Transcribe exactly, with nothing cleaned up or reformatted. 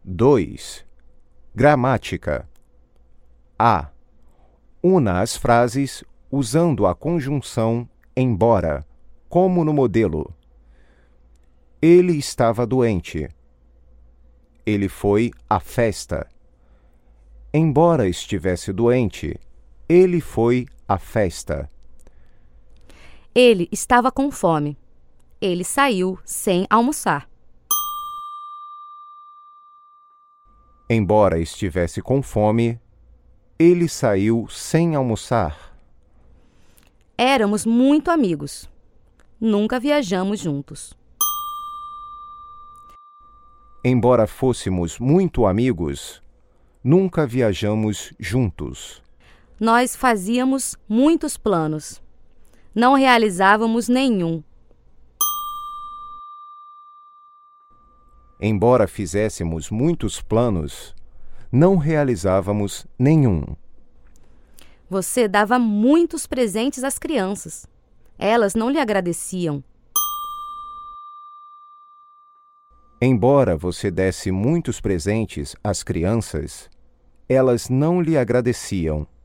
dois. Gramática. A. Una as frases usando a conjunção embora, como no modelo. Ele estava doente. Ele foi à festa. Embora estivesse doente, ele foi à festa. Ele estava com fome. Ele saiu sem almoçar. Embora estivesse com fome, ele saiu sem almoçar. Éramos muito amigos. Nunca viajamos juntos. Embora fôssemos muito amigos, nunca viajamos juntos. Nós fazíamos muitos planos. Não realizávamos nenhum. Embora fizéssemos muitos planos, não realizávamos nenhum. Você dava muitos presentes às crianças. Elas não lhe agradeciam. Embora você desse muitos presentes às crianças, elas não lhe agradeciam.